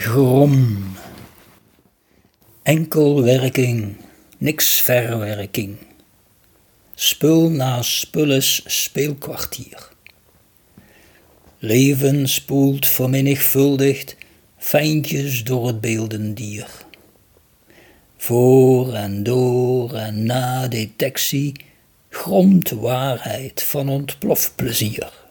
Grom. Enkelwerking, niks verwerking. Spul na spul is speelkwartier. Leven spoelt vermenigvuldigd fijntjes door het beeldendier. Voor en door en na detectie gromt waarheid van ontplofplezier.